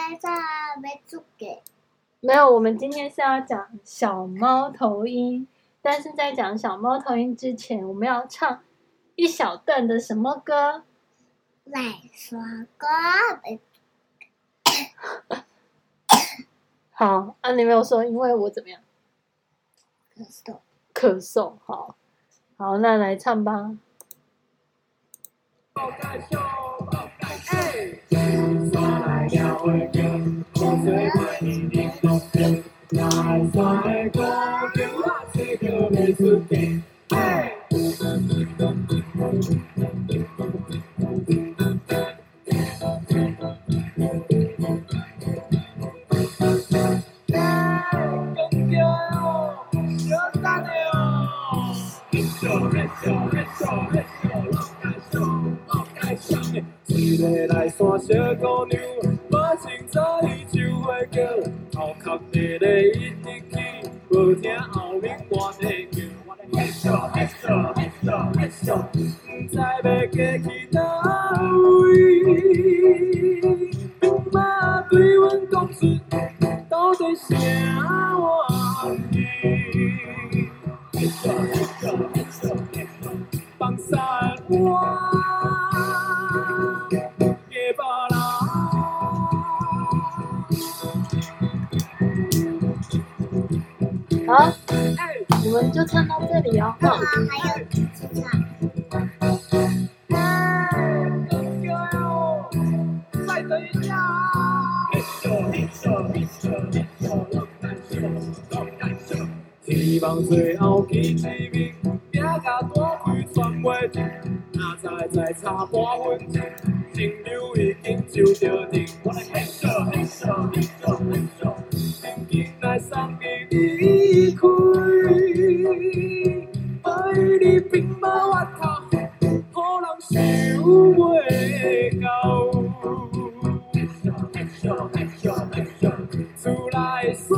沒有，我們今天是要講小貓頭鷹，但是在講小貓頭鷹之前，我們要唱一小段的什麼歌？ 來說歌。 好，你沒有說，因為我怎麼樣？咳嗽，好，那來唱吧。 一個來山小姑娘，無清早伊就會叫，後殼地咧一直去，無聽後面我在叫。嘿咻嘿咻嘿咻嘿咻，唔知要過去倒位。兵馬對阮講出到底啥玩意？嘿咻嘿咻嘿咻嘿咻，放散我。 好，我們就唱到這裡哦。 還有幾次唱？ 再等一下。希望最後見一面，命甲大開傳袂停，哪知再差半分鐘，情流已經就着定。我來嘿咻嘿咻嘿咻嘿咻，緊緊來送你離開，愛你兵馬外頭，好人想袂到。嘿咻嘿咻嘿咻嘿咻，厝內山。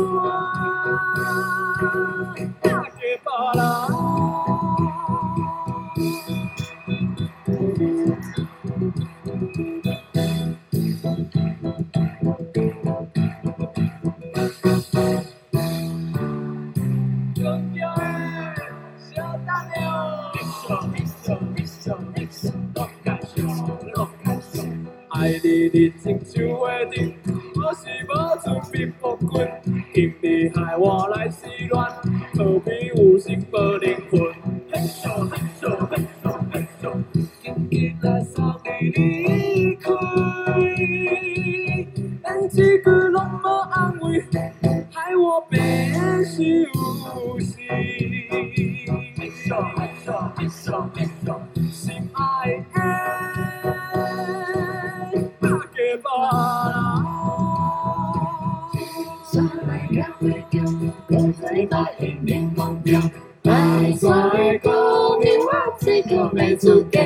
愛你日情就會定，我是無準備不困，因你害我來失戀，何必有心無靈魂？嘿咻嘿咻嘿咻嘿咻，緊緊來送你離開，但一句攏無安慰，害我變傷心。嘿咻嘿咻嘿咻嘿咻，心愛的。白山的姑娘，我這個沒出嫁。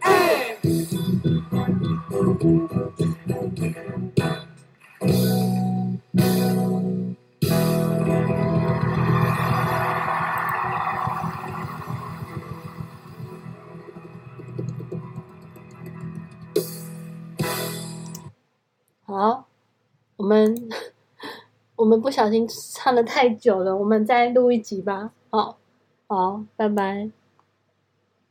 好，我們不小心唱得太久了，我們再錄一集吧。好，拜拜。